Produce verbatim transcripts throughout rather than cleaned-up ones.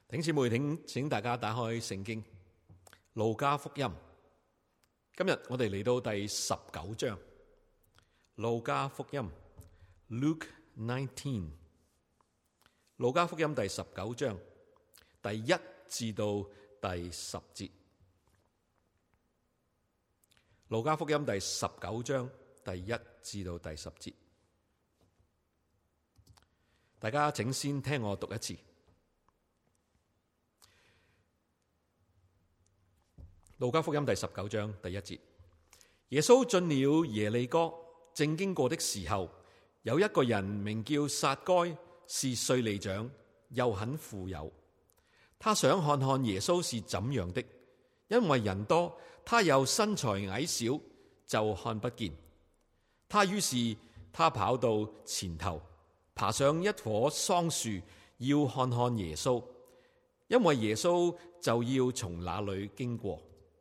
弟兄姊妹，請請大家打開聖經路加福音。今日我哋嚟到第十九章，路加福音 Luke nineteen， 路加福音第十九章第一至到第十節。路加福音第十九章第一至到第十節，大家請先聽我讀一次。路加福音第十九章第一節，耶穌進了耶利哥，正經過的時候，有一個人名叫撒該，是稅吏長，又很富有。他想看看耶穌是怎樣的，因為人多，他又身材矮小，就看不見。他於是他跑到前頭，爬上一棵桑樹，要看看耶穌，因為耶穌就要從那裏經過。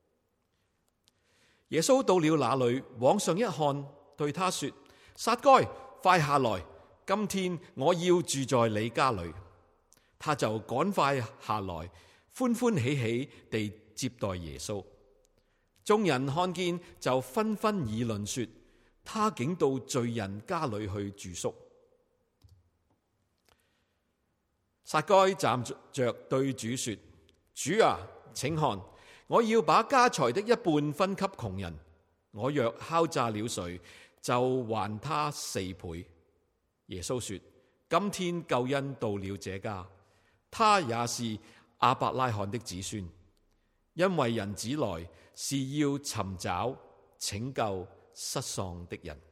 耶穌到了那裏，往上一看，對他說：撒該，快下來，今天我要住在你家裏。他就趕快下來，歡歡喜喜地接待耶穌。眾人看見就紛紛議論說：他竟到罪人家裏去住宿。撒該站着對主說：主啊，請看，我要把家財的一半分給窮人，我若敲詐了誰，就還他四倍。耶穌說：今天救恩到了這家，他也是亞伯拉罕的子孫，因為人子來是要尋找拯救失喪的人。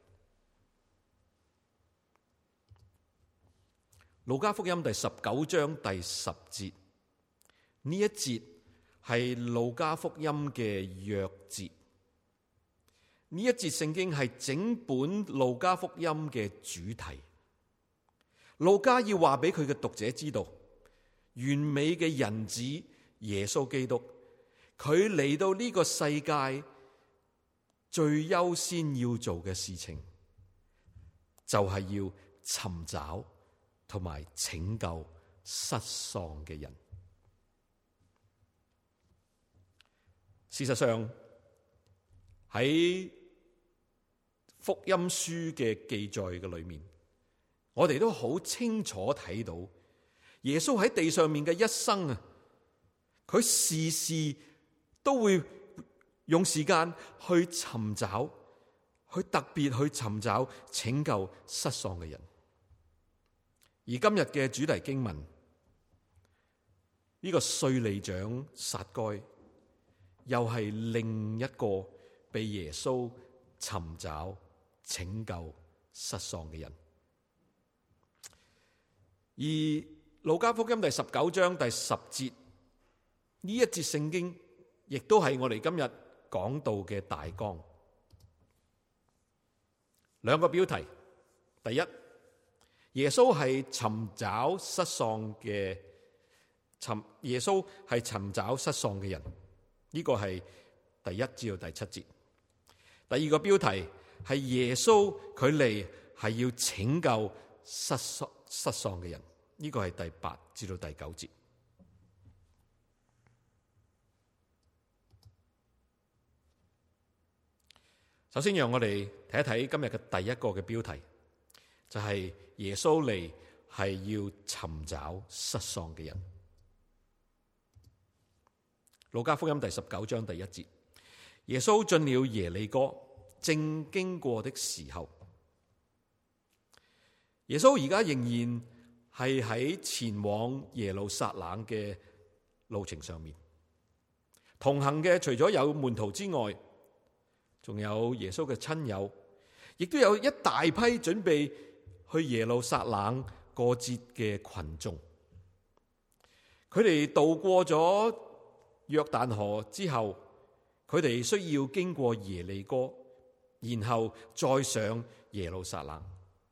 路加福音第十九章第十節，呢一節係路加福音嘅鑰節。呢一節聖經係整本路加福音嘅主題。路加要話俾佢嘅讀者知道，完美嘅人子耶穌基督，佢嚟到呢個世界最優先要做嘅事情，就係要尋找同埋拯救失喪嘅人。事實上，喺福音書嘅記載嘅裏面，我哋都好清楚睇到耶穌喺地上面嘅一生啊，佢時時都會用時間去尋找，去特別去尋找拯救失喪嘅人。而今日嘅主題經文，呢個稅吏長撒該，又係另一個被耶穌尋找拯救失喪嘅人。而路加福音第十九章第十節，呢一節聖經亦都係我哋今日講道嘅大綱。兩個標題：第一，耶穌係尋找失喪嘅尋耶穌係尋找失喪嘅人，呢個係第一至到第七節。第二個標題係耶穌佢嚟係要拯救失喪失喪嘅人，呢個係第八至到第九節。首先讓我哋睇一睇今日嘅第一個嘅標題，就係耶穌嚟係要尋找失喪嘅人。路加福音第十九章第一節，耶穌進了耶利哥，正經過的時候。耶穌而家仍然係喺前往耶路撒冷嘅路程上面，同行嘅除咗有門徒之外，仲有耶穌嘅親友，亦都有一大批準備去耶路撒冷過節嘅群眾。佢哋渡過咗約旦河之後，佢哋需要經過耶利哥，然後再上耶路撒冷。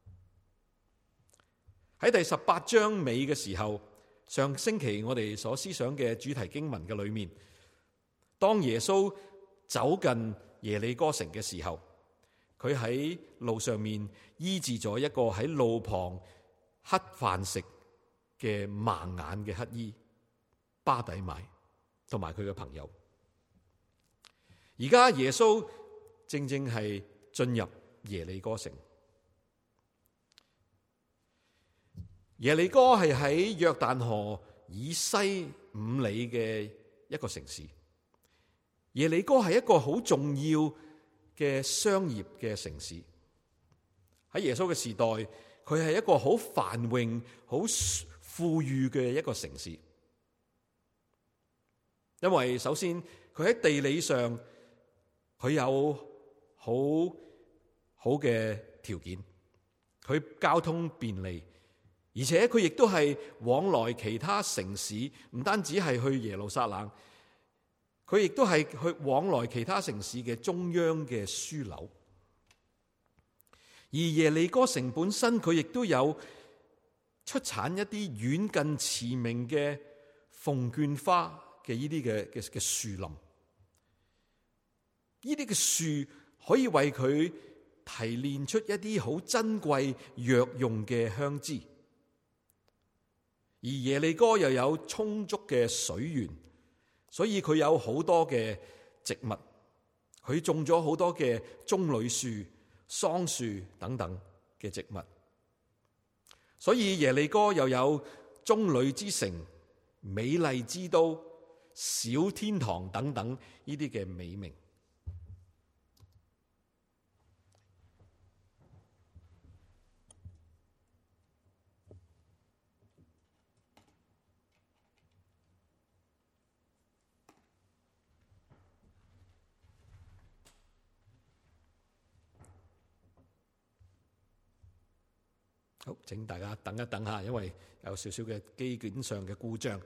喺第十八章尾嘅時候，上星期我哋所思想嘅主題經文嘅裏面，當耶穌走近耶利哥城嘅時候，佢喺路上面醫治咗一個喺路旁乞飯食嘅盲眼嘅乞兒。 巴底買同埋佢嘅朋友。而家耶穌正正係進入耶利哥城。耶利哥係喺約旦河以西五里嘅一個城市。耶利哥係一個好重要嘅商業嘅城市。喺耶穌嘅時代，佢係一個好繁榮、好富裕嘅一個城市。因為首先佢喺地理上佢有好好嘅條件，佢交通便利。而且佢亦都係往來其他城市，唔單止係去耶路撒冷，佢亦都係去往來其他城市嘅中央嘅樞紐。而耶利哥城本身，佢亦都有出產一啲遠近馳名嘅鳳絹花嘅呢啲嘅嘅嘅樹林。呢啲嘅樹可以為佢提煉出一啲好珍貴藥用嘅香脂。而耶利哥又有充足嘅水源，所以佢有好多嘅植物，佢種咗好多嘅棕櫚樹、桑樹等等嘅植物，所以耶利哥又有棕櫚之城、美麗之都、小天堂等等呢啲嘅美名。好，請大家等一等下，因為有少少嘅機件上嘅故障。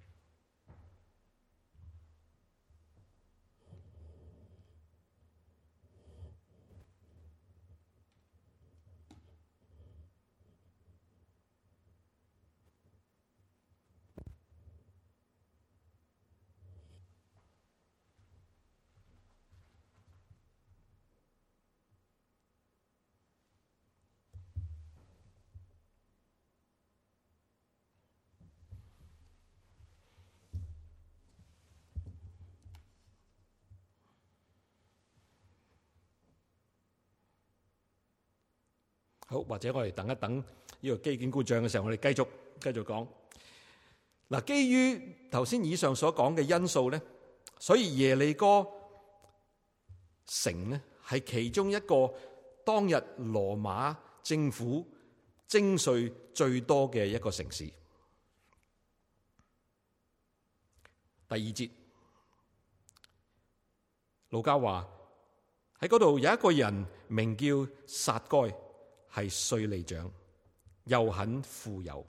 好，或者我哋等一等呢個機件故障嘅時候，我哋繼續繼續講。嗱，基於頭先以上所講嘅因素咧，所以耶利哥城咧係其中一個當日羅馬政府徵稅最多嘅一個城市。第二節，路加話喺嗰度有一個人名叫撒該，係稅吏長，又很富有。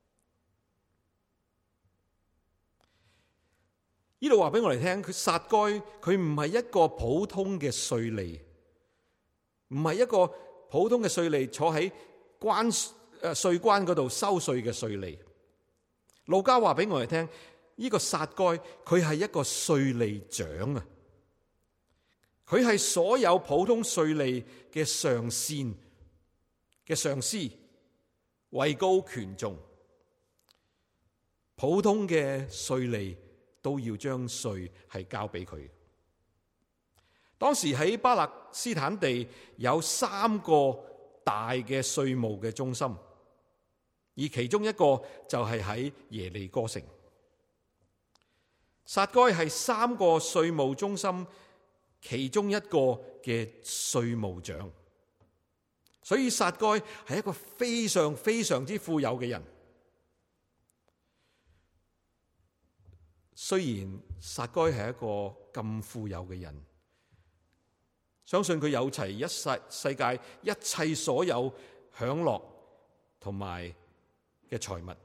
呢度話俾我哋聽，佢撒該佢唔係一個普通嘅稅吏，唔係一個普通嘅稅吏坐喺關誒稅關嗰度收稅嘅稅吏。路加話俾我哋聽，呢個撒該佢係一個稅吏長啊，佢係所有普通稅吏嘅上線嘅上司，位高權重，普通嘅稅吏都要將稅係交俾佢。當時喺巴勒斯坦地有三個大嘅稅務嘅中心，而其中一個就係喺耶利哥城。撒該係三個稅務中心其中一個嘅稅務長。所以撒該係一個非常非常之富有嘅人。雖然撒該係一個咁富有嘅人，相信佢有齊一世世界一切所有享樂同埋嘅財物，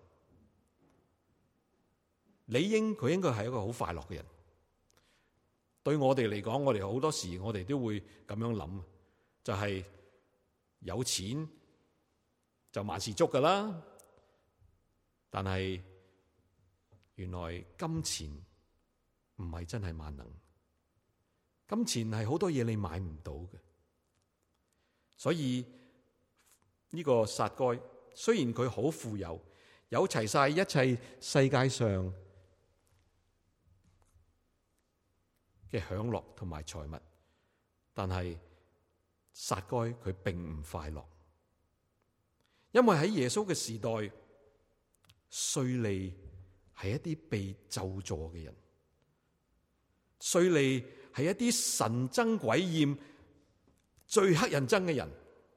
理應佢應該係一個好快樂嘅人。對我哋嚟講，我哋好多時我哋都會咁樣諗，就係、是。有錢就萬事足噶啦，但係原來金錢唔係真係萬能，金錢係好多嘢你買唔到嘅。所以呢個撒該雖然佢好富有，有齊晒一切世界上嘅享樂同埋財物，但係撒該佢並唔快樂，因為喺耶穌嘅時代，稅吏係一啲被咒詛嘅人，稅吏係一啲神憎鬼厭、最乞人憎嘅人，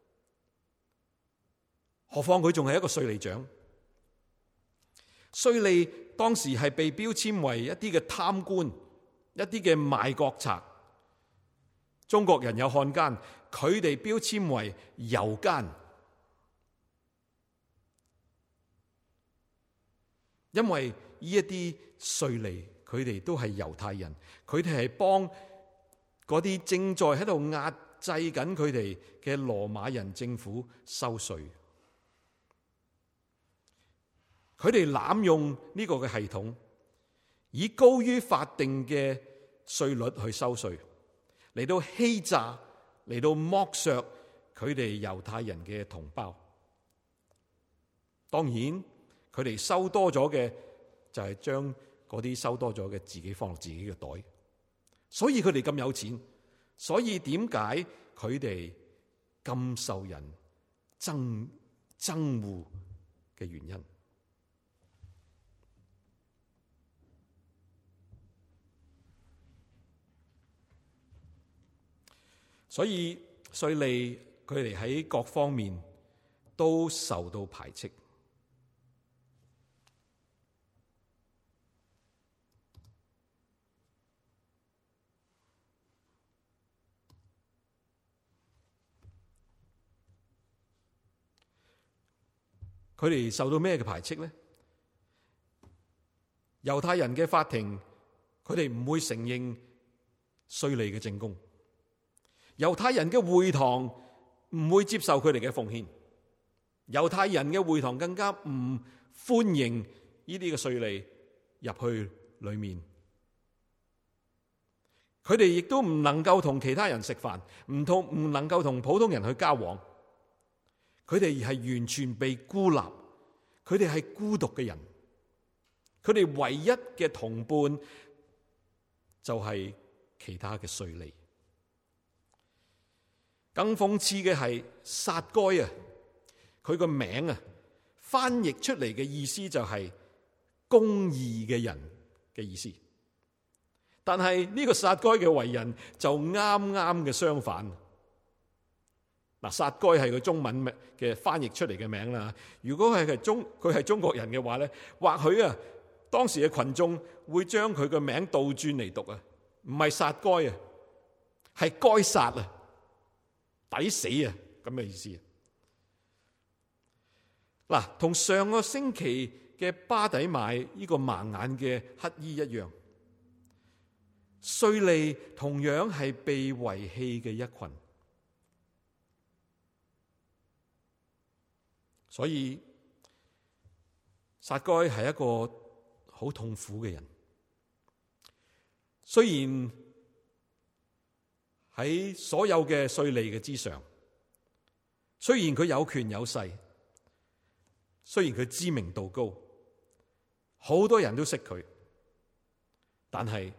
何況佢仲係一個稅吏長。稅吏當時係被標籤為一啲嘅貪官，一啲嘅賣國賊。中國人有漢奸，佢哋標籤為猶奸，因為呢一啲稅吏，佢哋都係猶太人，佢哋係幫嗰啲正在喺度壓制緊佢哋嘅羅馬人政府收稅。佢哋濫用呢個嘅系統，以高於法定嘅稅率去收稅，嚟到欺詐，嚟到剝削佢哋猶太人嘅同胞。當然，佢哋收多咗嘅就係將嗰啲收多咗嘅自己放落自己嘅袋，所以佢哋咁有錢。所以點解佢哋咁受人憎憎惡嘅原因？所以稅吏佢哋喺各方面都受到排斥。佢哋受到咩嘅排斥呢？猶太人嘅法庭，佢哋唔會承認稅吏嘅證供。猶太人嘅會堂唔會接受佢哋嘅奉獻，猶太人嘅會堂更加唔歡迎呢啲嘅稅吏入去裏面。佢哋亦都唔能夠同其他人食飯，唔同唔能夠同普通人去交往。佢哋係完全被孤立，佢哋係孤獨嘅人。佢哋唯一嘅同伴就係其他嘅稅吏。更諷刺嘅係撒該啊，佢個名啊，翻譯出嚟嘅意思就係公義嘅人嘅意思。但係呢個撒該嘅為人就啱啱嘅相反。嗱，撒該係個中文嘅翻譯出嚟嘅名啦。如果係係中佢係中國人嘅話咧，或許啊，當時嘅群眾會將佢個名倒轉嚟讀啊，唔係撒該啊，係該撒啊。抵死啊！咁嘅意思。嗱，同上個星期嘅巴底買呢個盲眼嘅乞衣一樣，稅吏同樣係被遺棄嘅一群。所以撒該係一個好痛苦嘅人。雖然喺所有嘅稅吏嘅之上，雖然佢有權有勢，雖然佢知名度高，好多人都識佢，但係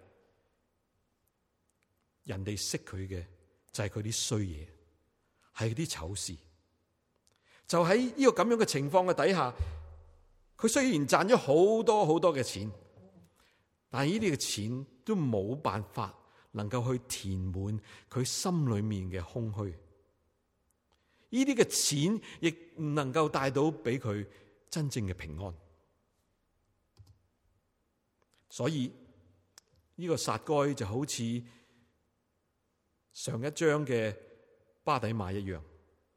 人哋識佢嘅就係佢啲衰嘢，係啲醜事。就喺呢個咁樣嘅情況嘅底下，佢雖然賺咗好多好多嘅錢，但係呢啲嘅錢都冇辦法能夠去填滿佢心裏面嘅空虛，呢啲嘅錢亦唔能夠帶到俾佢真正嘅平安。所以呢個撒該就好似上一章嘅巴底買一樣，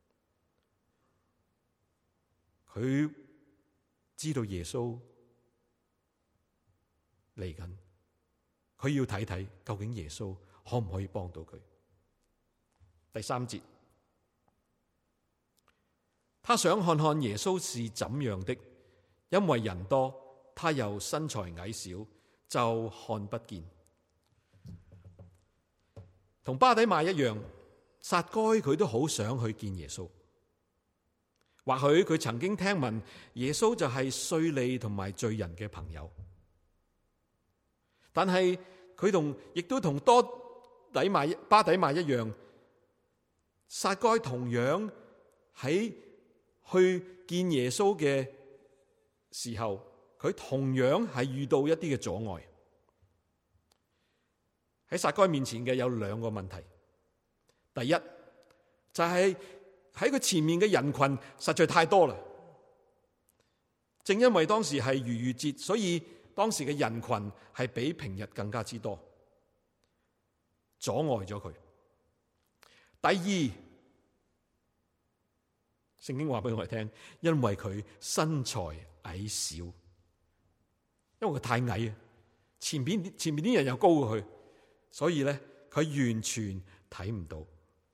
佢知道耶穌嚟緊。佢要睇睇究竟耶穌可唔可以幫到佢。第三節，他想看看耶穌是怎樣的，因為人多，他又身材矮小，就看不見。同巴底買一樣，撒該佢都好想去見耶穌。或許佢曾經聽聞耶穌就係稅吏同埋罪人嘅朋友，但係佢同亦都同多底買巴底買一樣，撒該同樣喺去見耶穌嘅時候，佢同樣係遇到一啲嘅阻礙。喺撒該面前嘅有兩個問題，第一就係喺佢前面嘅人群實在太多啦。正因為當時係逾越節，所以當時嘅人群係比平日更加之多，阻礙咗佢。第二，聖經話俾我哋聽，因為佢身材矮小，因為佢太矮啊，前邊前面啲人又高過佢，所以咧佢完全睇唔到。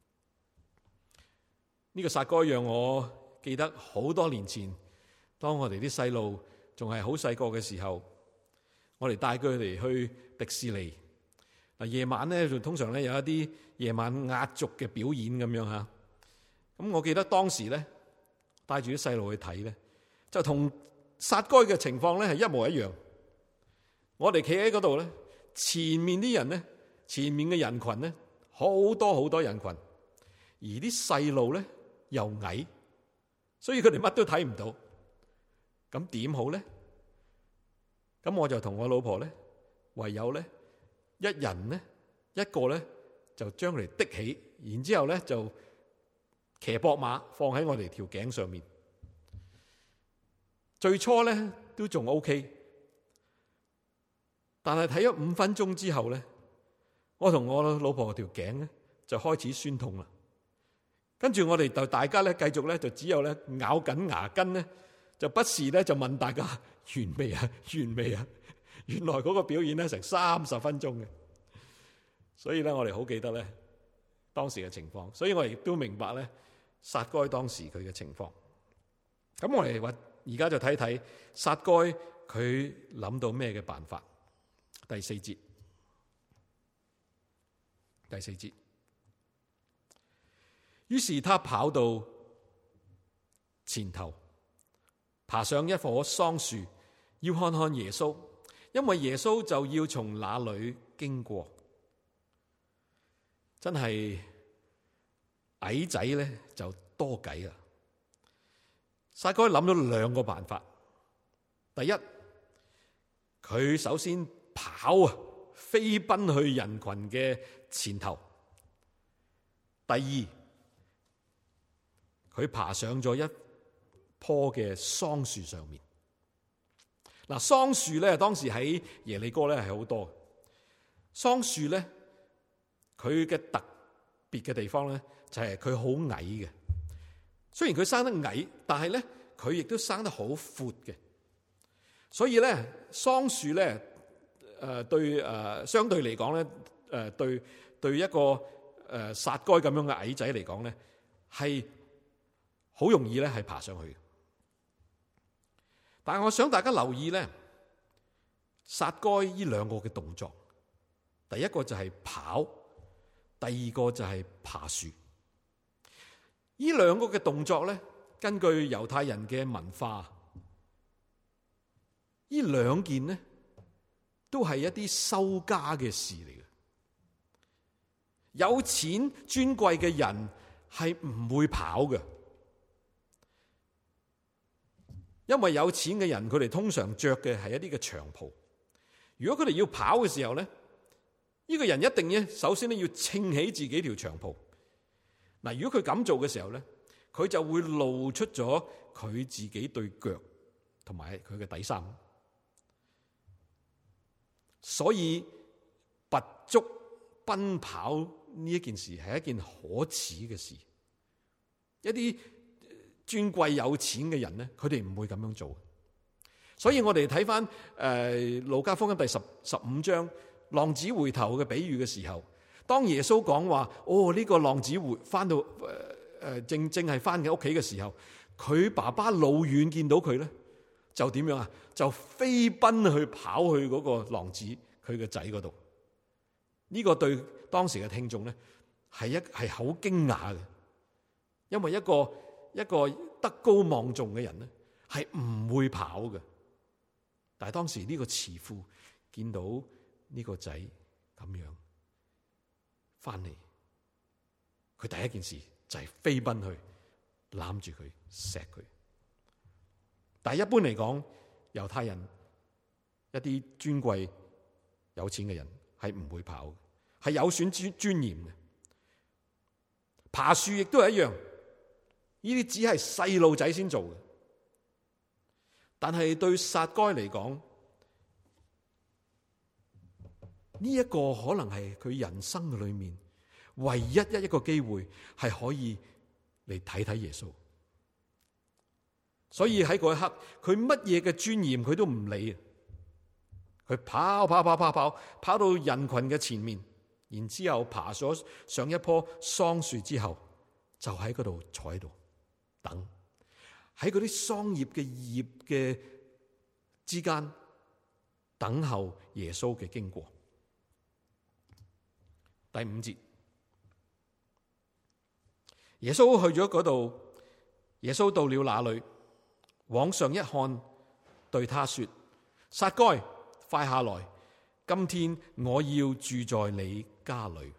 呢個撒該讓我記得好多年前，當我哋啲細路仲係好細個嘅時候，我哋帶佢哋去迪士尼。嗱，夜晚咧就通常咧有一啲夜晚壓軸嘅表演咁樣吓。咁我記得當時咧帶住啲細路去睇咧，就同撒該嘅情況咧係一模一樣。我哋企喺嗰度咧，前面啲人咧，前面嘅人群咧好多好多人群，而啲細路咧又矮，所以佢哋乜都睇唔到。咁點好咧？咁我就同我老婆咧，唯有咧一人咧一個咧就將佢哋的起，然之後咧就騎膊馬放喺我哋條頸上面。最初咧都仲 OK， 但係睇咗五分鐘之後咧，我同我老婆條頸咧就開始酸痛啦。跟住我哋就大家咧繼續咧就只有咧咬緊牙根咧，就不時咧就問大家完未啊？完未啊？原來嗰個表演咧成三十分鐘嘅，所以咧我哋好記得咧當時嘅情況，所以我亦都明白咧撒該當時佢嘅情況。咁我哋話而家就睇睇撒該佢諗到咩嘅辦法。第四節，第四節，於是他跑到前頭，爬上一棵桑樹，要看看耶穌，因為耶穌就要從那裏經過。真係矮仔咧就多計啊！撒該諗咗兩個辦法。第一，佢首先跑啊，飛奔去人群嘅前頭。第二，佢爬上咗一棵嘅桑樹上面。嗱，桑樹咧當時喺耶利哥咧係好多。桑樹咧，佢嘅特別嘅地方咧就係佢好矮嘅。雖然佢生得矮，但係咧佢亦都生得好闊嘅。所以咧桑樹咧誒對誒相對嚟講咧誒對對一個誒撒該咁樣嘅矮仔嚟講咧係好容易咧係爬上去。但係我想大家留意咧，撒該呢兩個嘅動作，第一個就係跑，第二個就係爬樹。呢兩個嘅動作咧，根據猶太人嘅文化，呢兩件呢都係一啲收家嘅事嚟嘅。有錢尊貴嘅人係唔會跑嘅。因為有錢嘅人，佢哋通常着嘅係一啲嘅長袍。如果佢哋要跑嘅時候咧，呢個人一定咧，首先咧要撐起自己條長袍。嗱，如果佢咁做嘅時候咧，佢就會露出咗佢自己對腳同埋佢嘅底衫。所以拔足奔跑呢一件事係一件可恥嘅事。一啲尊貴有錢嘅人咧，佢哋唔會咁樣做。所以我哋睇翻誒路加福音第十十五章浪子回頭嘅比喻嘅時候，當耶穌講話哦呢、這個浪子回翻到誒誒、呃、正正係翻嘅屋企嘅時候，佢爸爸老遠見到佢咧，就點樣啊？就飛奔去跑去嗰個浪子佢嘅仔嗰度。呢、這個對當時嘅聽眾咧係一係好驚訝嘅，因為一個。一個德高望重嘅人咧，係唔會跑嘅。但係當時呢個慈父見到呢個仔咁樣翻嚟，佢第一件事就係飛奔去攬住佢錫佢。但係一般嚟講，猶太人一啲尊貴有錢嘅人係唔會跑，係有損尊尊嚴嘅。爬樹亦都係一樣，呢啲只係細路仔先做嘅。但係對撒該嚟講，呢一個可能係佢人生嘅裏面唯一一一個機會，係可以嚟睇睇耶穌。所以喺嗰一刻，佢乜嘢嘅尊嚴佢都唔理，佢跑跑跑跑跑跑到人群嘅前面，然之後爬咗上一棵桑樹之後，就喺嗰度坐喺度等，喺嗰啲桑葉嘅葉嘅之間等候耶穌嘅經過。第五節，耶穌去咗嗰度，耶穌到了那裏，往上一看，對他說：撒該，快下來，今天我要住在你家裏。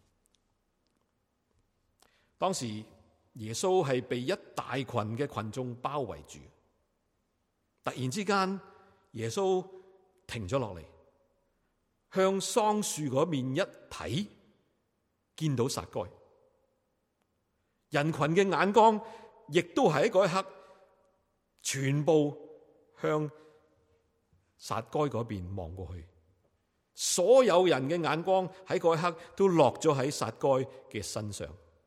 當時耶穌係被一大群嘅群眾包圍住，突然之間耶穌停咗落嚟，向桑樹嗰面一睇，見到撒該。人群嘅眼光亦都喺嗰一刻全部向撒該嗰邊望過去，所有人嘅眼光喺嗰一刻都落咗喺撒該嘅身上。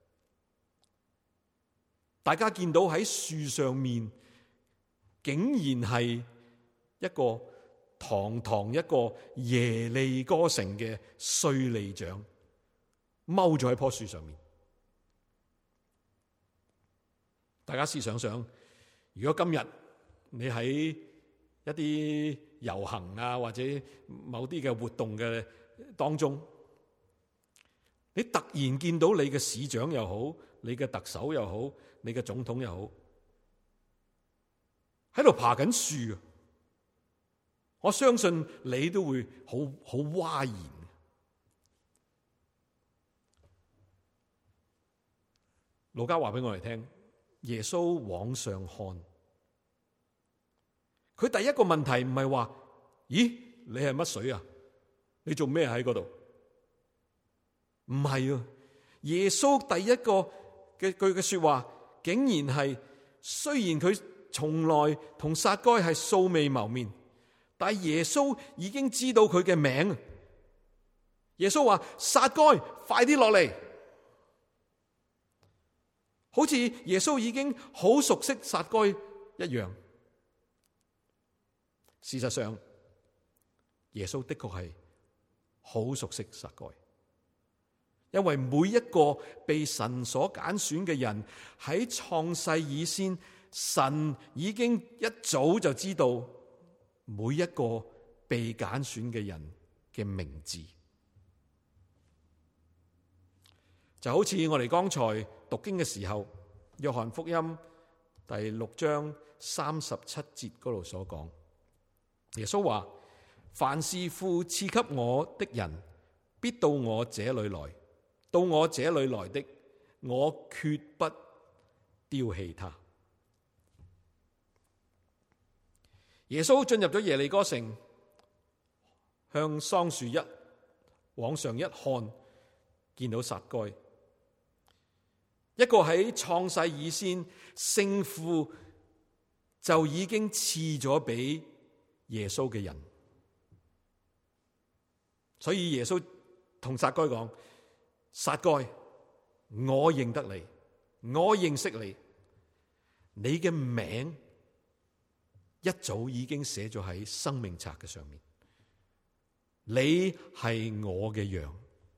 大家見到喺樹上面竟然係一個堂堂一個耶利哥城嘅稅吏長踎咗喺棵樹上面。大家試想想，如果今日你喺一啲遊行啊，或者某啲嘅活動嘅當中，你突然見到你嘅市長又好，你嘅特首又好，你嘅總統又好，喺度爬緊樹，我相信你都會好好嘩然。路加話俾我哋聽，耶穌往上看，佢第一個問題唔係話：咦，你係乜水啊？你做咩喺嗰度？唔係啊！耶穌第一個嘅句嘅說話，竟然係，雖然佢從來同撒該係素未謀面，但係耶穌已經知道佢嘅名。耶穌話：撒該，快啲落嚟！好似耶穌已經好熟悉撒該一樣。事實上，耶穌的確係好熟悉撒該，因為每一個被神所揀選嘅人，喺創世以先，神已經一早就知道每一個被揀選嘅人嘅名字。就好似我哋剛才讀經嘅時候，約翰福音第六章三十七節嗰度所講，耶穌話：凡是父賜給我的人，必到我這裏來；到我這裏來的，我決不丟棄他。耶穌進入咗耶利哥城，向桑樹一往上一看，見到撒該，一個喺創世以先聖父就已經賜咗俾耶穌嘅人。所以耶穌同撒該講：撒該，我認得你，我認識你，你嘅名一早已經寫咗喺生命冊嘅上面，你係我嘅羊，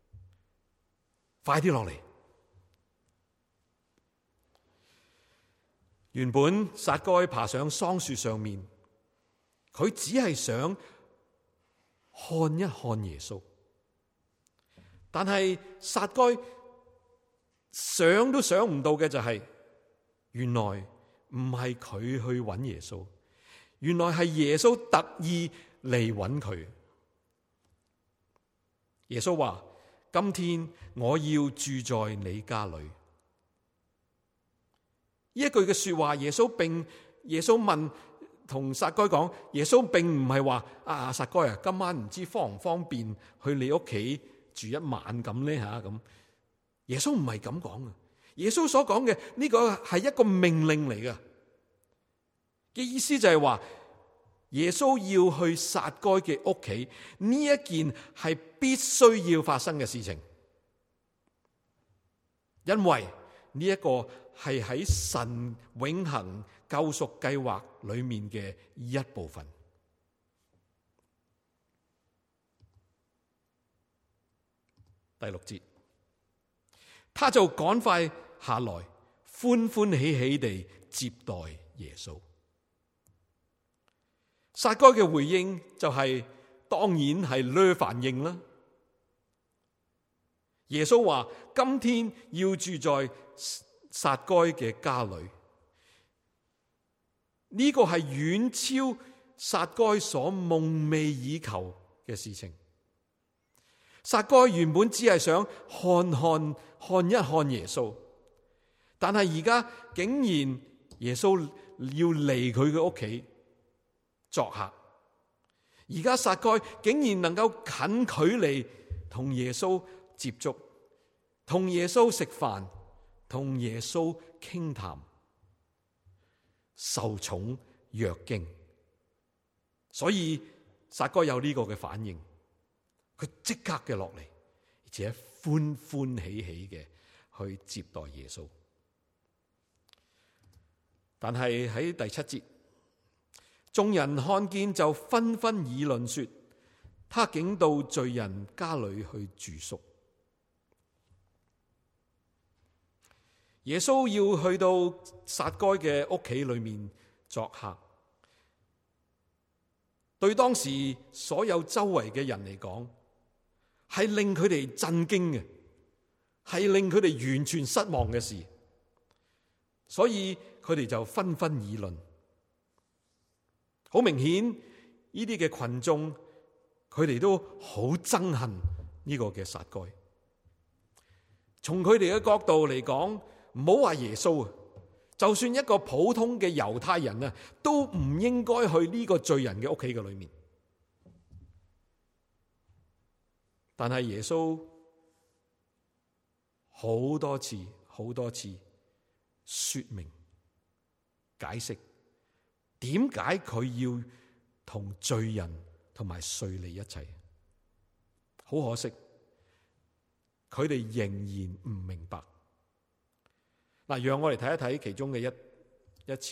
快啲落嚟。原本撒該爬上桑樹上面，佢只係想看一看耶穌，但係撒該想都想唔到嘅就係，原來唔係佢去揾耶穌，原來係耶穌特意嚟揾佢。 耶穌話：今天我要住在你家裏。呢一句嘅說話，耶穌並耶穌問同撒該講，耶穌並唔係話啊撒該啊，今晚唔知方唔方便去你屋企住一晚咁呢吓咁。耶穌唔係咁講嘅，耶穌所講嘅呢個係一個命令嚟嘅，嘅意思就係話耶穌要去撒該嘅屋企，呢一件係必須要發生嘅事情，因為呢一個係喺神永恆救贖計劃裏面嘅一部分。第六節，他就趕快下來，歡歡喜喜地接待耶穌。撒該嘅回應就係、是、當然係呢反應啦。耶穌話：今天要住在撒該嘅家裏，呢、這個係遠超撒該所夢寐以求嘅事情。撒該原本只係想看看看一看耶穌，但係而家竟然耶穌要嚟佢嘅屋企作客，而家撒該竟然能夠近距離同耶穌接觸，同耶穌食飯，同耶穌傾談，受寵若驚，所以撒該有呢個嘅反應。佢即刻嘅落嚟，而且歡歡喜喜嘅去接待耶穌。但係喺第七節，眾人看見就紛紛議論說，他竟到罪人家裏去住宿。耶穌要去到撒該嘅屋企裏面作客，對當時所有周圍嘅人嚟講，係令佢哋震驚嘅，係令佢哋完全失望嘅事，所以佢哋就紛紛議論。好明顯，呢啲嘅群眾，佢哋都好憎恨呢個嘅撒該。從佢哋嘅角度嚟講，唔好話耶穌啊，就算一個普通嘅猶太人啊，都唔應該去呢個罪人嘅屋企嘅裏面。但係耶穌好多次、好多次說明、解釋，點解佢要同罪人同埋稅吏一齊。好可惜，佢哋仍然唔明白。嗱，讓我哋睇一睇其中嘅一一次，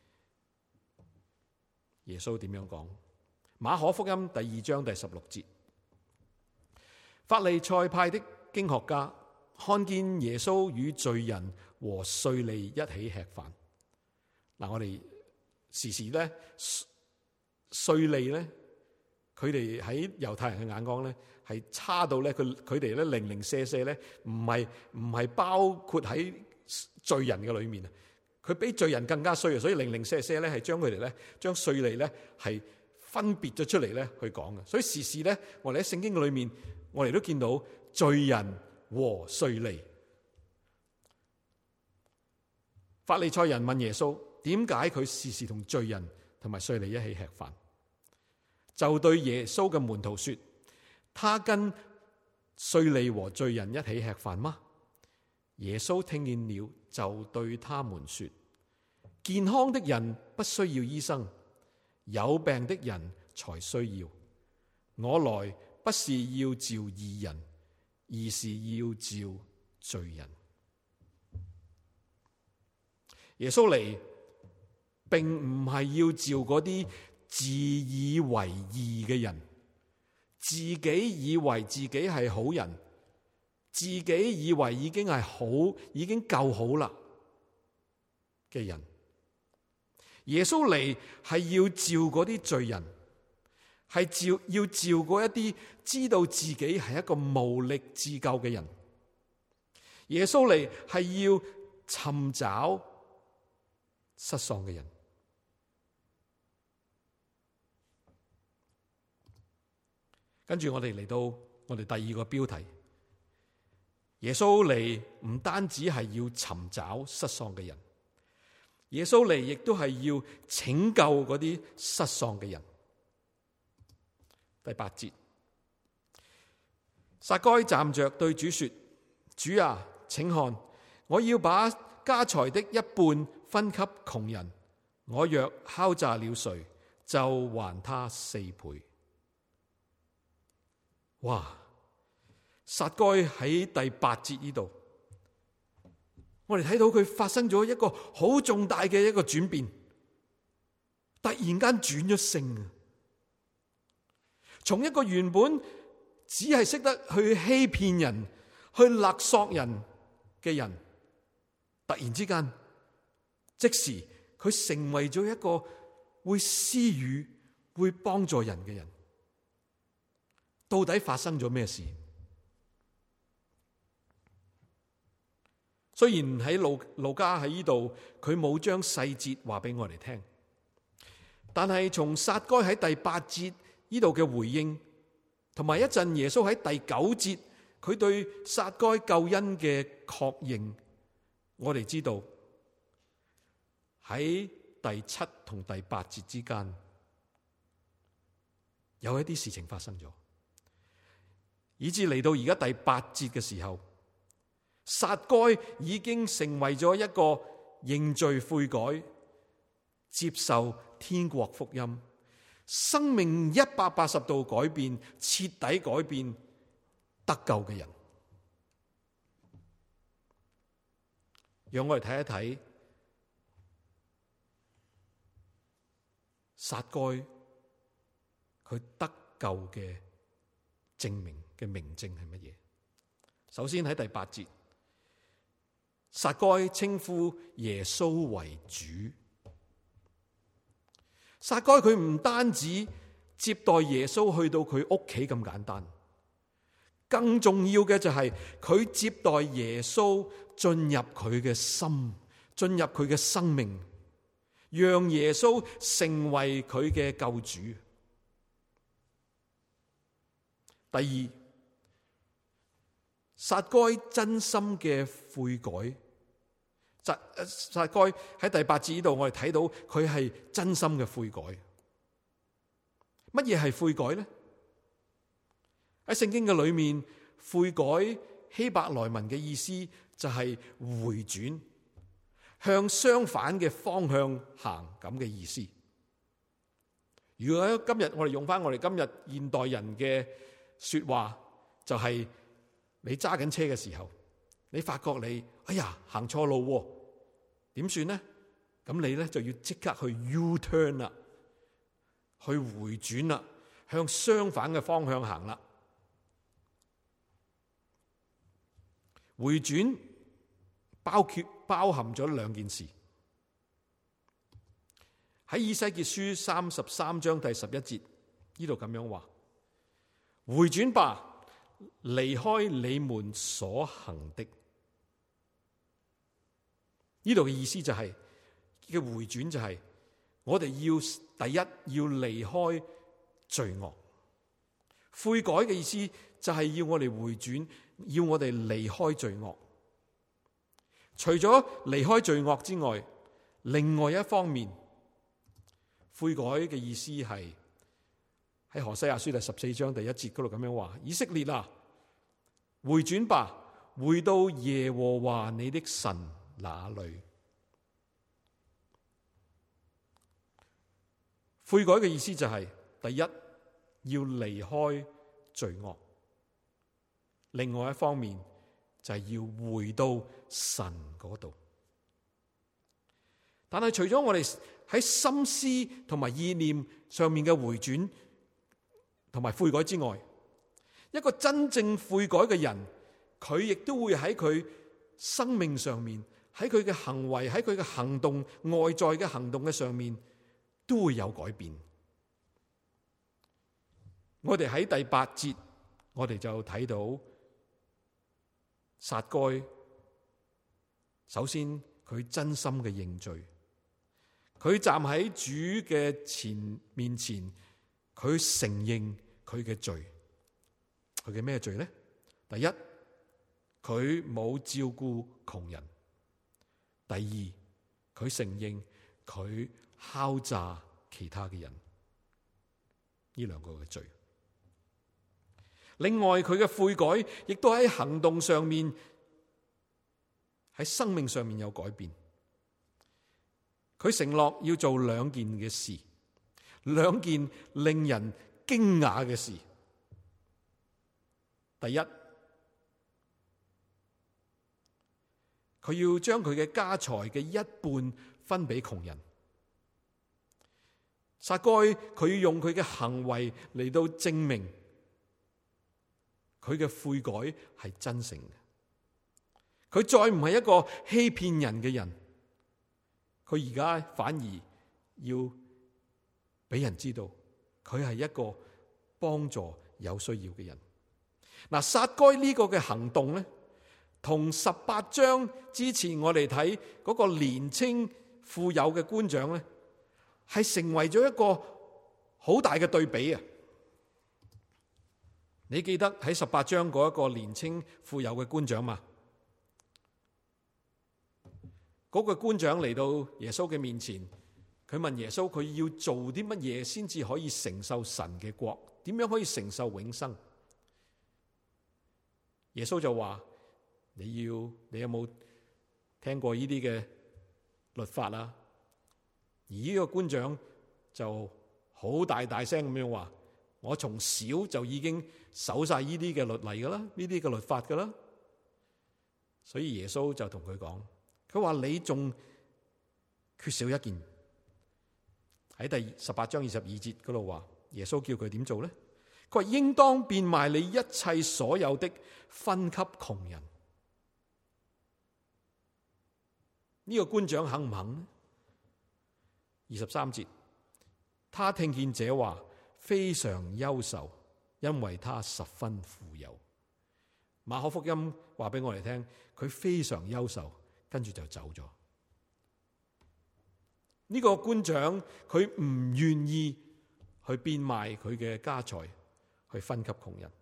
耶穌點樣講。馬可福音第二章第十六節。法利賽派的經學家看見耶穌與罪人和稅吏一起吃飯。嗱，我哋時時咧，稅吏咧，佢哋喺猶太人嘅眼光咧，係差到咧，佢佢哋咧零零舍舍咧，唔係唔係包括喺罪人嘅裏面啊，佢比罪人更加衰啊，所以零零舍舍咧係將佢哋咧，將稅吏咧係分別咗出嚟咧去講嘅。所以時時咧，我哋喺聖經嘅裏面，我哋都見到罪人和稅吏。法利賽人問耶穌，點解佢時時同罪人同埋稅吏一起吃飯？就對耶穌嘅門徒說，他跟稅吏和罪人一起吃飯嗎？耶穌聽見了，就對他們說，健康的人不需要醫生，有病的人才需要。我來不是要召義人，而是要召罪人。耶穌嚟並唔係要召嗰啲自以為義嘅人，自己以為自己係好人，自己以為已經係好，已經夠好啦嘅人。耶穌嚟係要召嗰啲罪人，係召要召嗰一啲知道自己係一個無力自救嘅人。耶穌嚟係要尋找失喪嘅人。跟住我哋嚟到我哋第二個標題，耶穌嚟唔單止係要尋找失喪嘅人，耶穌嚟亦都係要拯救嗰啲失喪嘅人。第八節，撒該站着對主說：主啊，請看，我要把家財的一半分給窮人，我若敲詐了誰，就還他四倍。哇！撒該喺第八節呢度，我哋睇到佢發生咗一個好重大嘅一個轉變，突然間轉咗性啊！從一個原本只係識得去欺騙人、去勒索人嘅人，突然之間，即時佢成為咗一個會施予、會幫助人嘅人。到底發生咗咩事？雖然喺路路加喺呢度，佢冇將細節話俾我哋聽，但係從撒該喺第八節呢度嘅回應，同埋一陣耶穌喺第九節佢對撒該救恩嘅確認，我哋知道喺第七同第八節之間有一啲事情發生咗，以至嚟到而家第八節嘅時候，撒該已經成為咗一個認罪悔改、接受天國福音、生命一百八十度改變、徹底改變、得救嘅人。讓我哋睇一睇撒該佢得救嘅證明嘅明證係乜嘢？首先喺第八節，撒該稱呼耶穌為主。撒該佢唔單止接待耶穌去到佢屋企咁簡單，更重要嘅就係佢接待耶穌進入佢嘅心，進入佢嘅生命，讓耶穌成為佢嘅救主。第二，撒該真心嘅悔改。撒撒該喺第八節呢度，我哋睇到佢係真心嘅悔改。乜嘢係悔改呢？喺聖經嘅裏面，悔改希伯來文嘅意思就係回轉，向相反嘅方向行咁嘅意思。如果今日我哋用翻我哋今日現代人嘅說話，就係你揸緊車嘅時候，你發覺你哎呀行錯路，點算呢？咁你咧就要即刻去 U-turn 啦，去回轉啦，向相反嘅方向行啦。回轉包括包含咗兩件事。喺以西結書三十三章第十一節呢度咁樣話：回轉吧，離開你們所行的。呢度嘅意思就係、是、嘅回轉就係、是、我哋要第一要離開罪惡。悔改嘅意思就係要我哋回轉，要我哋離開罪惡。除咗離開罪惡之外，另外一方面，悔改嘅意思係喺何西阿書第十四章第一節嗰度咁樣話：以色列啊，回轉吧，回到耶和華你的神那裏。悔改嘅意思就係、是、第一要離開罪惡，另外一方面就係要回到神嗰度。但係除咗我哋喺心思同埋意念上面嘅回轉同埋悔改之外，一個真正悔改嘅人，佢亦都會喺佢生命上面，喺佢嘅行為，喺佢嘅行動，外在嘅行動嘅上面都會有改變。我哋喺第八節，我哋就睇到撒該，首先佢真心嘅認罪，佢站喺主嘅前面前，佢承認佢嘅罪，佢佢嘅咩罪呢？第一，佢冇照顧窮人；第二，佢承認佢敲詐其他嘅人。呢兩個嘅罪。另外，佢嘅悔改亦都喺行動上面，喺生命上面有改變。佢承諾要做兩件嘅事，兩件令人驚訝嘅事。第一，佢要將佢嘅家財嘅一半分俾窮人。撒該佢要用佢嘅行為嚟到證明佢嘅悔改係真誠嘅。佢再唔係一個欺騙人嘅人，佢而家反而要俾人知道佢係一個幫助有需要嘅人。嗱，撒該呢個嘅行動咧，同十八章之前我哋睇嗰個年青富有嘅官長咧，係成為咗一個好大嘅對比啊！你記得喺十八章嗰一個年青富有嘅官長嘛？嗰個官長嚟到耶穌嘅面前，佢問耶穌佢要做啲乜嘢先至可以承受神嘅國？點樣可以承受永生？耶穌就話：你要你有冇聽過呢啲嘅律法啊？而呢個官長就好大大聲咁樣話：我從小就已經守晒呢啲嘅律例噶啦，呢啲嘅律法噶啦。所以耶穌就同佢講，佢話你仲缺少一件。喺第十八章二十二節嗰度話，耶穌叫佢點做呢？佢話應當變賣你一切所有的，分給窮人。呢個官長肯唔肯呢？二十三節，他聽見這話，非常憂愁，因為他十分富有。馬可福音話俾我哋聽，佢非常憂愁，跟住就走咗。呢個官長佢唔願意去變賣佢嘅家財去分給窮人，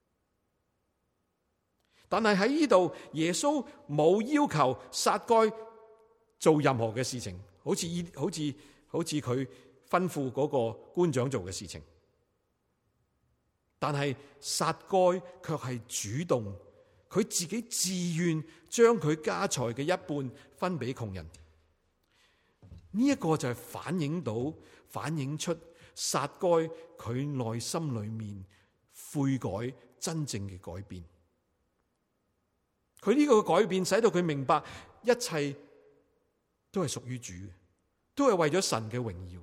但係喺呢度耶穌冇要求撒該做任何嘅事情，好似好似好似佢吩咐嗰個官長做嘅事情，但係撒該卻係主動，佢自己自願將佢家財嘅一半分俾窮人。呢、這、一個就係反映到反映出撒該佢內心裏面悔改真正嘅改變。佢呢個改變使到佢明白一切都係屬於主嘅，都係為咗神嘅榮耀。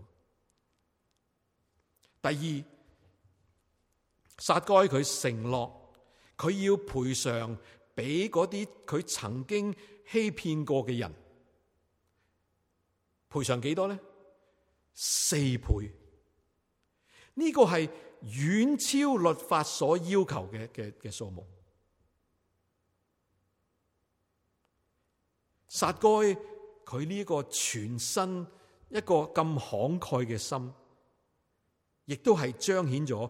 第二，撒該佢承諾佢要賠償俾嗰啲佢曾經欺騙過嘅人。賠償幾多呢？四倍。呢個係遠超律法所要求嘅嘅嘅數目。撒該佢呢個全身一個咁慷慨嘅心，亦都係彰顯咗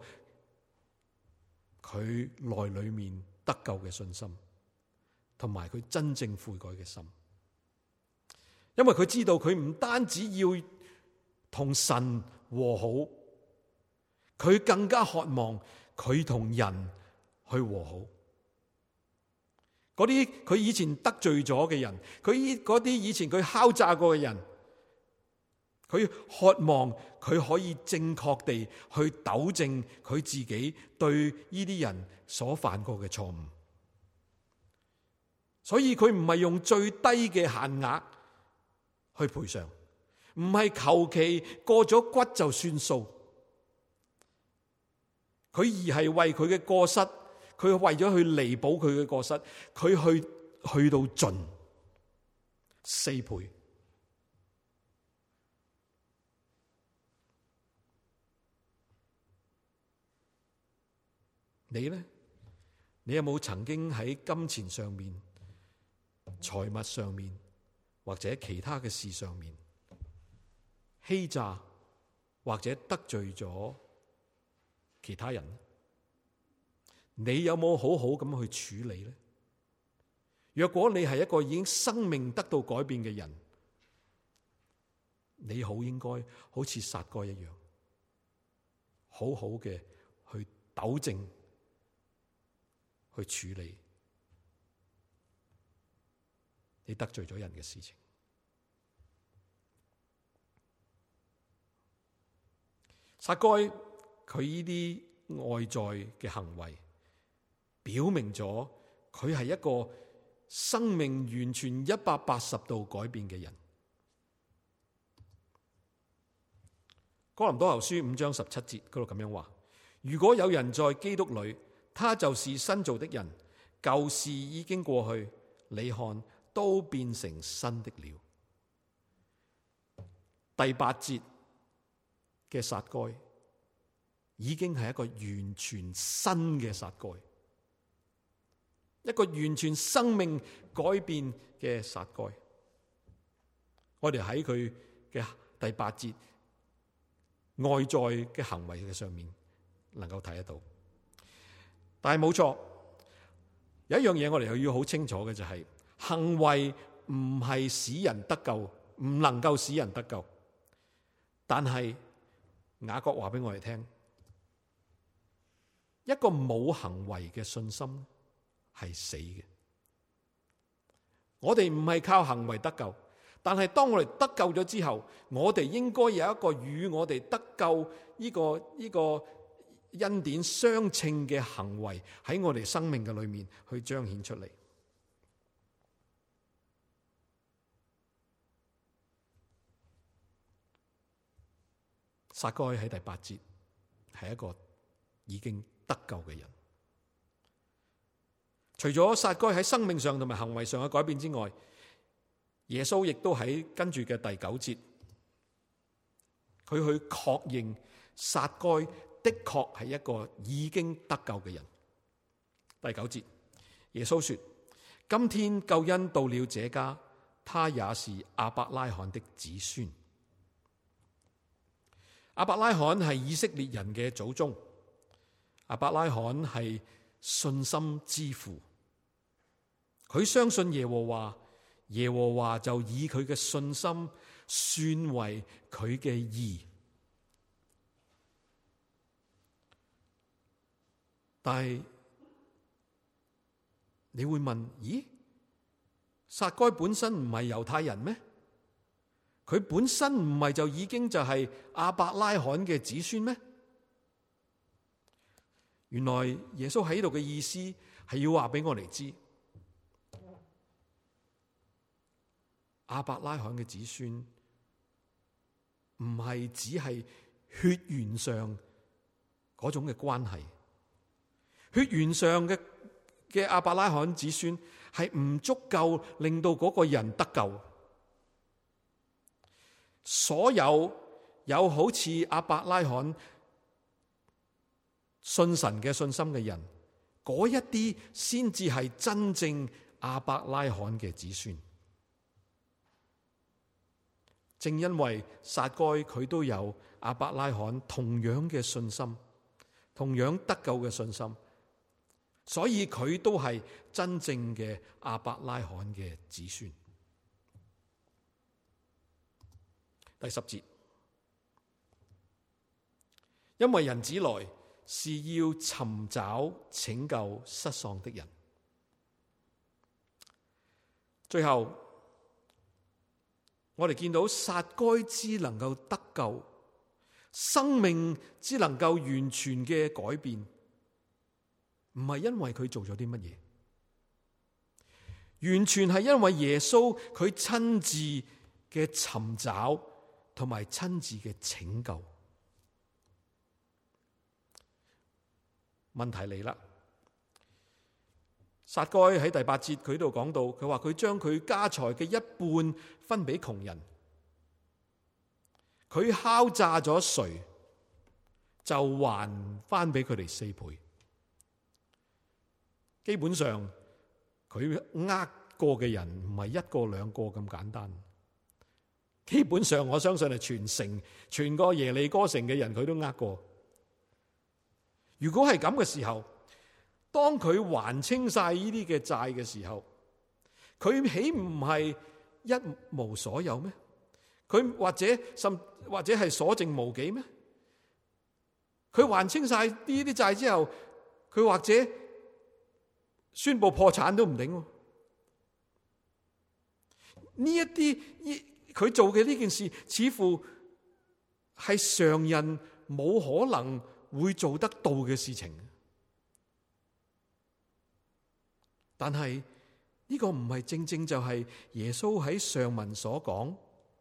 佢內裏面得救嘅信心，同埋佢真正悔改嘅心。因為佢知道佢唔單止要同神和好，佢更加渴望佢同人去和好。嗰啲佢以前得罪咗嘅人，佢嗰啲以前佢敲詐過嘅人，佢渴望佢可以正確地去糾正佢自己對呢啲人所犯過嘅錯誤。所以佢唔係用最低嘅限額去賠償，唔係求其過咗骨就算數，佢而係為佢嘅過失，佢為咗去彌補佢嘅過失，佢去去到盡四倍。你呢？你有冇曾經喺金錢上面、財物上面，或者其他嘅事上面欺詐，或者得罪咗其他人？ 你有冇好好咁去處理呢？若果你係一個已經生命得到改變嘅人，你好應該好似撒該一樣，好好嘅去糾正、去處理你得罪咗人嘅事情。撒該佢呢啲外在嘅行為，表明咗佢係一個生命完全一百八十度改變嘅人。哥林多後書五章十七節嗰度咁樣話：如果有人在基督裏，他就是新造的人，舊事已經過去，你看都變成新的了。第八節嘅撒該已經係一個完全新嘅撒該，一個完全生命改變嘅撒該。我哋喺佢嘅第八節外在嘅行為嘅上面能夠睇得到，但係冇錯，有一樣嘢我哋又要好清楚嘅就係、是、行為唔係使人得救，唔能夠使人得救。但係雅各話俾我哋聽，一個冇行為嘅信心係死嘅。我哋唔係靠行為得救，但係當我哋得救咗之後，我哋應該有一個與我哋得救呢個呢個恩典相稱嘅行為喺我哋生命嘅裏面去彰顯出嚟。撒該喺第八節係一個已經得救嘅人。除咗撒該喺生命上同埋行為上嘅改變之外，耶穌亦都喺跟住嘅第九節，佢去確認撒該的確係一個已經得救嘅人。第九節，耶穌說：今天救恩到了這家，他也是亞伯拉罕的子孫。亞伯拉罕係以色列人嘅祖宗，亞伯拉罕係信心之父，佢相信耶和華，耶和華就以佢嘅信心算為佢嘅義。但係你會問：咦，撒該本身唔係猶太人咩？佢本身唔係就已經就係亞伯拉罕嘅子孫咩？原來耶穌喺度嘅意思係要話俾我哋知，亞伯拉罕嘅子孫唔係只係血緣上嗰種嘅關係，血緣上嘅嘅亞伯拉罕子孫係唔足夠令到嗰個人得救。所有有好似亞伯拉罕信神嘅信心嘅人，嗰一啲先至係真正亞伯拉罕嘅子孫。正因為撒該佢都有亞伯拉罕同樣嘅信心，同樣得救嘅信心，所以佢都係真正嘅亞伯拉罕嘅子孫。第十節，因為人子來是要尋找拯救失喪的人。最後，我哋見到撒該之能夠得救，生命之能夠完全嘅改變，唔係因為佢做咗啲乜嘢，完全係因為耶穌佢親自嘅尋找同埋親自嘅拯救。問題嚟啦，撒該喺第八節佢度講到，佢話佢將佢家財嘅一半分俾窮人，佢敲詐咗誰就還翻俾佢哋四倍。基本上佢呃過嘅人唔係一個兩個咁簡單，基本上我相信係全城全個耶利哥城嘅人佢都呃過。如果係咁嘅時候， 當佢還清晒呢啲嘅債嘅時候，佢豈唔係一無所有咩？佢或者甚或者係所剩無幾咩？佢還清晒呢啲債之後，佢或者宣布破產都唔定。呢一啲佢做嘅呢件事，似乎係常人冇可能會做得到嘅事情。但係呢個唔係正正就係耶穌喺上文所講，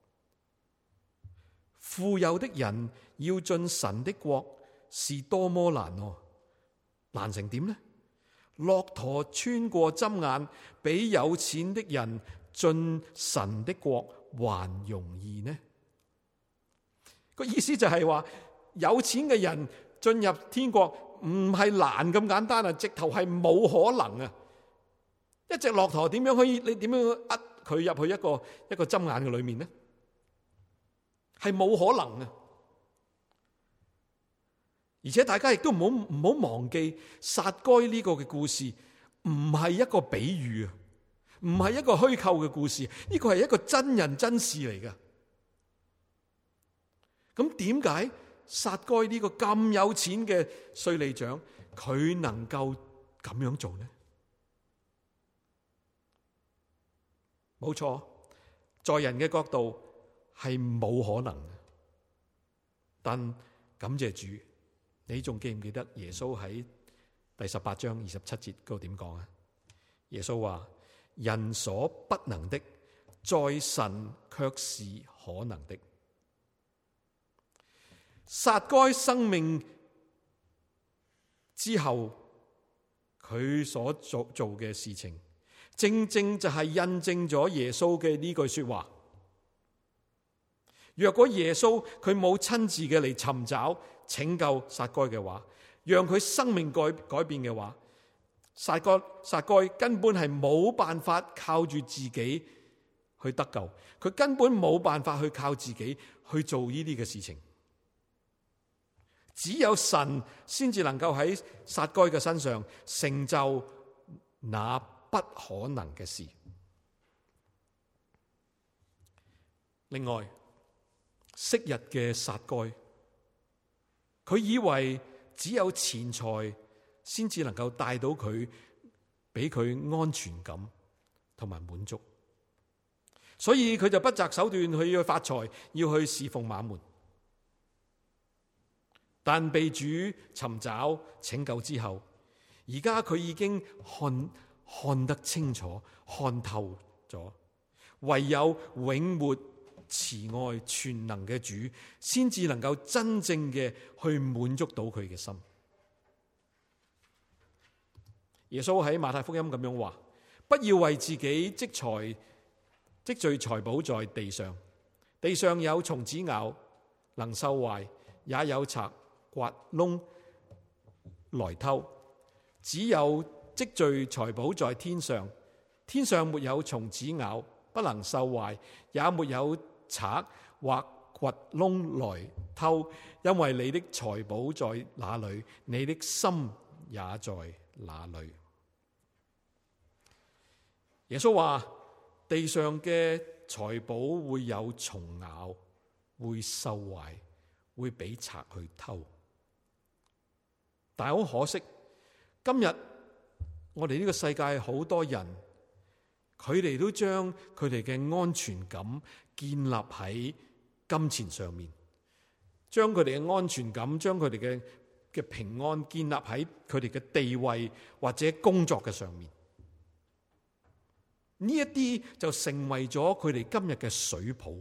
富有的人要進神的國是多麼難哦，難成點呢？駱駝穿過針眼，比有錢的人進神的國還容易呢？個意思就係話，有錢嘅人進入天國唔係難咁簡單啊，直頭係冇可能啊！一隻駱駝點樣可以？你點樣呃佢入去一個一個針眼嘅裏面呢？係冇可能啊！而且大家亦都唔好唔好忘記撒該呢個嘅故事，唔係一個比喻啊，唔係一個虛構嘅故事，呢個係一個真人真事嚟㗎。咁點解撒該呢個咁有錢嘅稅吏長，佢能夠咁樣做呢？冇錯，在人嘅角度係冇可能嘅，但感謝主，你仲記唔記得耶穌喺第十八章二十七節嗰度點講啊？耶穌話：人所不能的，在神卻是可能的。撒該生命之後，佢所做做嘅事情，正正就係印證咗耶穌嘅呢句說話。若果耶穌佢冇親自嘅嚟尋找拯救撒該嘅話，讓佢生命改改變嘅話，撒該撒該根本係冇辦法靠住自己去得救，佢根本冇辦法去靠自己去做呢啲嘅事情。只有神先至能夠喺撒該嘅身上成就那不可能嘅事。另外，昔日嘅撒該，佢以為只有錢財先至能夠帶到佢，俾佢安全感同埋滿足，所以佢就不擇手段去要發財，要去侍奉馬門。但被主尋找拯救之後，而家佢已經看看得清楚、看透咗，唯有永活慈愛全能嘅主，先至能夠真正嘅去滿足到佢嘅心。耶穌喺馬太福音咁樣話：不要為自己積財積聚財寶在地上，地上有蟲子咬，能收壞，也有賊挖窿來偷。只有積聚財寶在天上，天上沒有蟲子咬，不能受壞，也沒有賊或掘窿來偷。因為你的財寶在哪裏，你的心也在哪裏。耶穌話：地上嘅財寶會有蟲咬，會受壞，會俾賊去偷。但係好可惜，今日我哋呢個世界好多人，佢哋都將佢哋嘅安全感建立喺金錢上面，將佢哋嘅安全感，將佢哋嘅嘅平安建立喺佢哋嘅地位或者工作嘅上面。呢一啲就成為咗佢哋今日嘅水泡。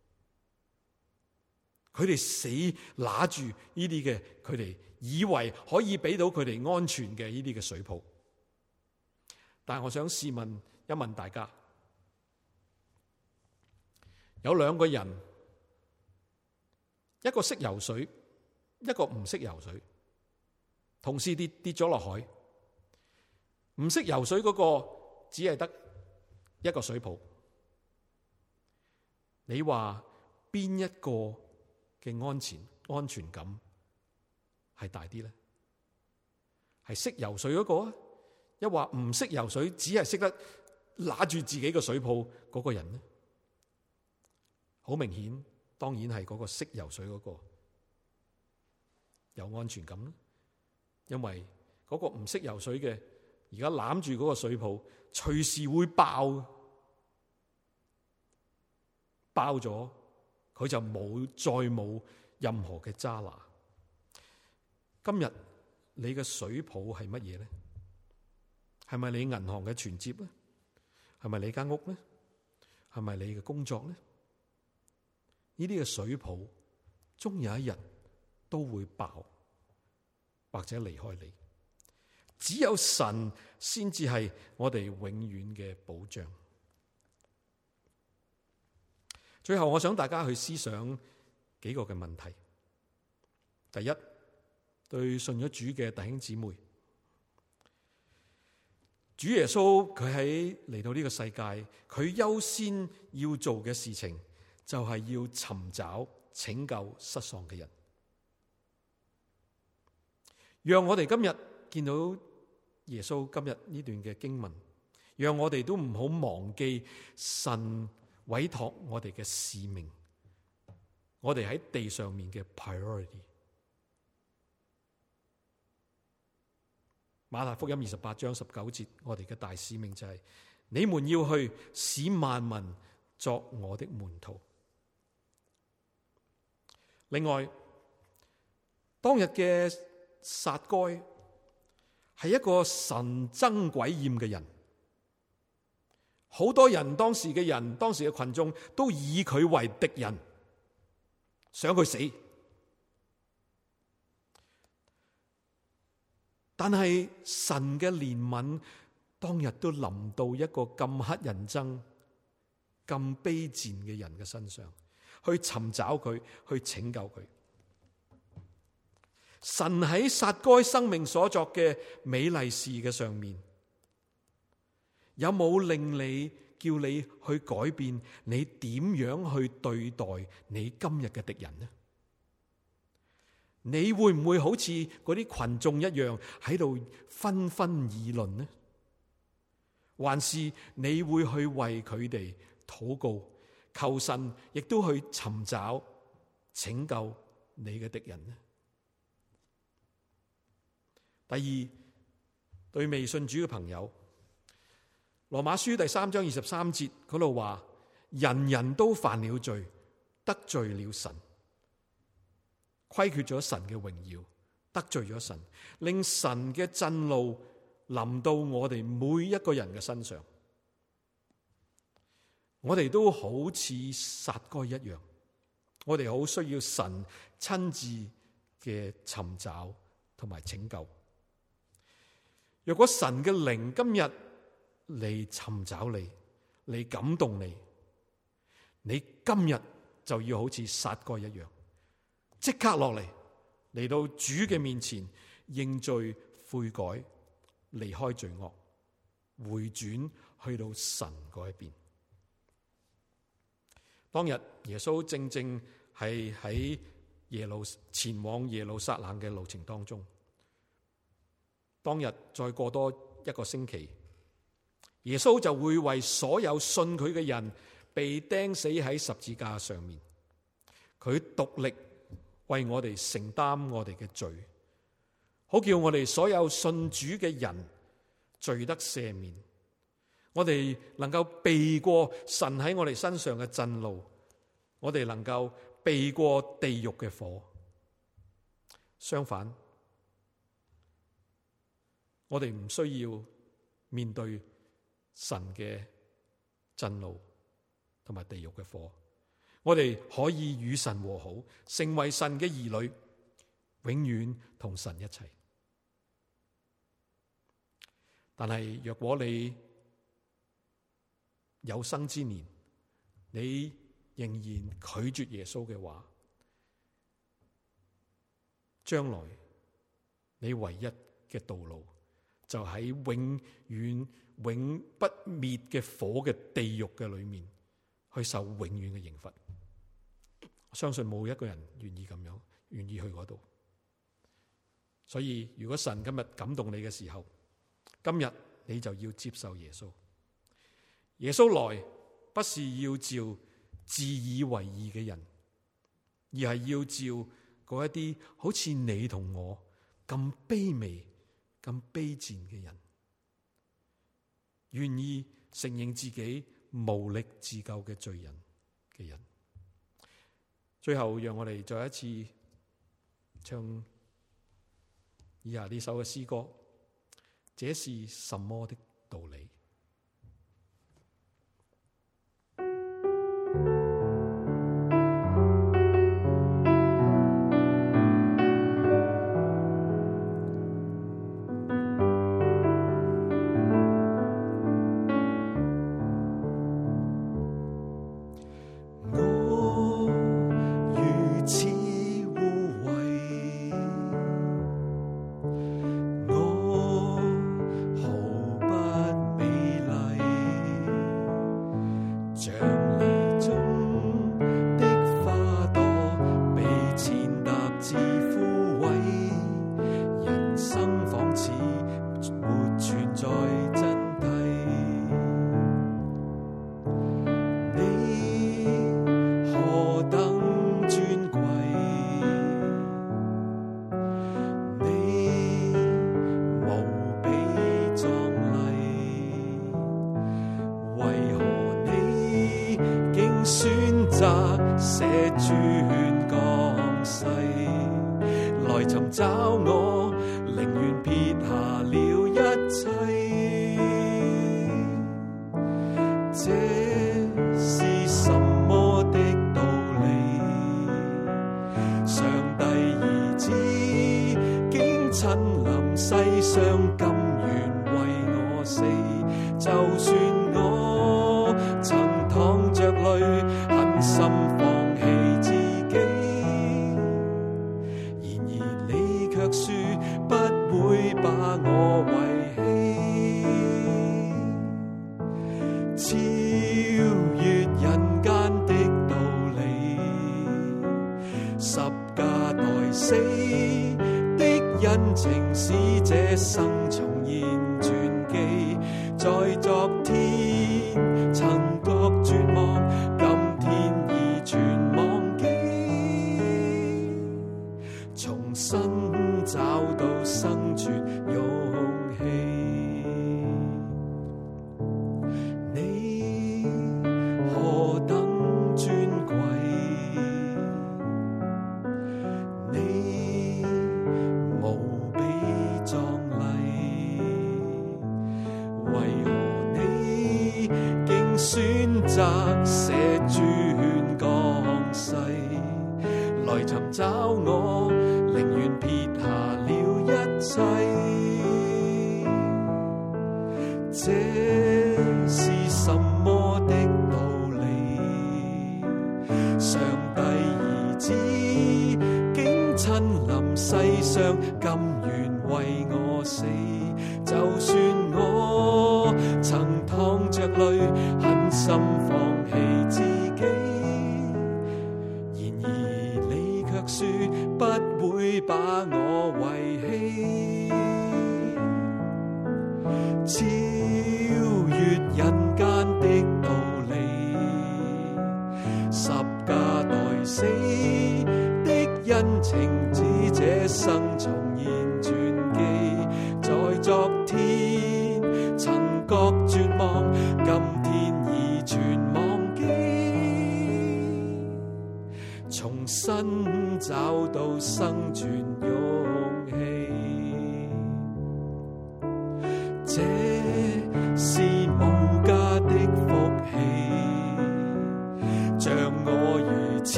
佢哋死拿住呢啲嘅，佢哋以為可以俾到佢哋安全嘅呢啲嘅水泡。但係我想試問一問大家，有兩個人，一個識游水，一個唔識游水，同時跌跌咗落海。唔識游水嗰個只係得一個水泡。你話邊一個嘅安全安全感係大啲咧？ 係識游水嗰個啊，一話唔識游水，只係識得拿住自己個水泡嗰個人呢？好明顯，當然係嗰個識游水嗰個有安全感啦。因為嗰個唔識游水嘅，而家攬住嗰個水泡，隨時會爆，爆咗佢就冇再冇任何嘅揸拿。今日你嘅水泡係乜嘢呢？係咪你銀行嘅存摺呢？係咪你間屋呢？係咪你嘅工作呢？呢啲嘅水泡終有一日都會爆，或者離開你。只有神先至係我哋永遠嘅保障。最後我想大家去思想幾個嘅問題。第一，對信咗主嘅弟兄姊妹，主耶穌佢喺嚟到呢個世界，佢優先要做嘅事情就係要尋找拯救失喪嘅人。讓我哋今日見到耶穌今日呢段嘅經文，讓我哋都唔好忘記神委託我哋嘅使命，我哋喺地上面嘅 priority。馬太福音二十八章十九節，我哋嘅大使命就係、是：你們要去使萬民作我的門徒。另外，當日嘅撒該係一個神憎鬼厭嘅人，好多人當時嘅人，當時嘅群眾都以佢為敵人，想佢死。但係神嘅憐憫當日都臨到一個咁乞人憎、咁卑賤嘅人嘅身上，去尋找佢，去拯救佢。神喺撒該生命所作嘅美麗事嘅上面，有冇令你叫你去改變你點樣去對待你今日嘅敵人呢？你會唔會好似嗰啲群眾一樣喺度紛紛議論呢？還是你會去為佢哋禱告，求神亦都去尋找拯救你嘅敵人呢？第二，對未信主嘅朋友，羅馬書第三章二十三節嗰度話：人人都犯了罪，得罪了神，虧缺咗神嘅榮耀，得罪咗神，令神嘅震怒臨到我哋每一個人嘅身上。我哋都好似撒該一樣，我哋好需要神親自嘅尋找同埋拯救。若果神嘅靈今日嚟尋找你，嚟感動你，你今日就要好似撒該一樣，即刻落嚟，嚟到主嘅面前認罪悔改，離開罪惡，回轉去到神嗰一邊。當日耶穌正正係喺耶路前往耶路撒冷嘅路程當中。當日再過多一個星期，耶穌就會為所有信佢嘅人被釘死喺十字架上面。佢獨力為我哋承擔我哋嘅罪，好叫我哋所有信主嘅人罪得赦免，我哋能夠避過神喺我哋身上嘅震怒，我哋能夠避過地獄嘅火。相反，我哋唔需要面對神嘅震怒同埋地獄嘅火，我哋可以與神和好，成為神嘅兒女，永遠同神一齊。但係若果你有生之年，你仍然拒絕耶穌嘅話，將來你唯一嘅道路就喺永遠永不滅嘅火嘅地獄嘅裏面去受永遠嘅刑罰。我相信冇一個人願意咁樣，願意去嗰度。 所以如果神今日感動你嘅時候，今日你就要接受耶穌。耶穌來不是要召自以為義嘅人，而係要召嗰一啲好似你同我咁卑微、咁卑賤嘅人，願意承認自己無力自救嘅罪人嘅人。最後，讓我哋再一次唱以下呢首嘅詩歌，這是什麼的道理？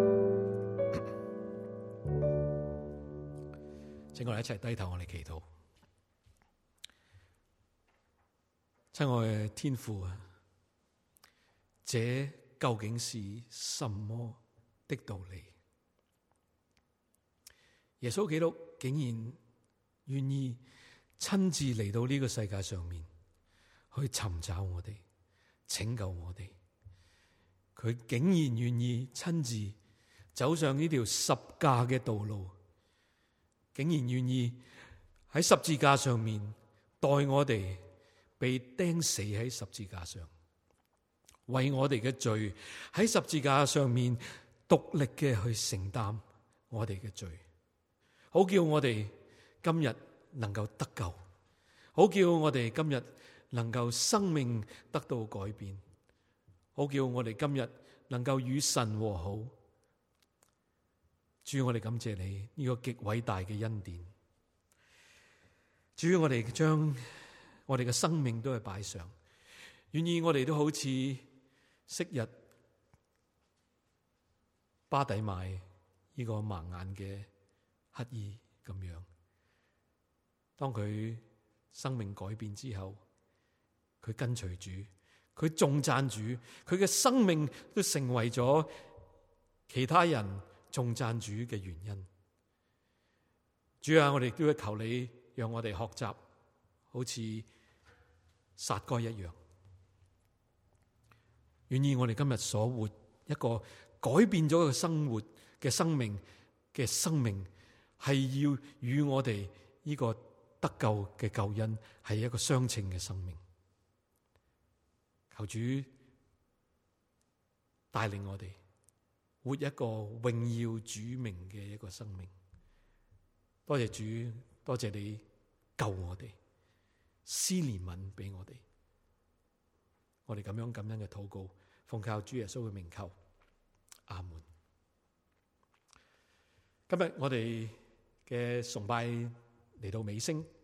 請我哋一齊低頭，我哋祈禱。 親愛嘅天父啊，這究竟是什麼的道理？耶穌基督竟然願意親自嚟到呢個世界上面去尋找我哋，拯救我哋。佢竟然願意親自走上呢條十架嘅道路，竟然願意喺十字架上面代我哋被釘死喺十字架上，為我哋嘅罪喺十字架上面獨力嘅去承擔我哋嘅罪，好叫我哋今日能夠得救，好叫我哋今日能夠生命得到改變，好叫我哋今日能夠與神和好。主，我哋感謝你呢個極偉大嘅恩典。主，我哋將我哋嘅生命都係擺上，願意我哋都好似昔日巴底買呢個盲眼嘅乞兒咁樣，當佢生命改變之後，佢跟隨主，佢頌讚主，佢嘅生命都成為咗其他人頌讚主嘅原因。主啊，我哋都要求你讓我哋學習好似撒該一樣，願意我哋今日所活一個改變咗嘅生活嘅生命嘅生命，係要與我哋呢個得救嘅救恩係一個相稱嘅生命。求主帶領我哋活一個榮耀主名嘅一個生命。多謝主，多謝你救我哋，施憐憫俾我哋。我哋咁樣感恩嘅禱告，奉靠主耶穌嘅名求，阿門。今日我哋嘅崇拜嚟到尾聲。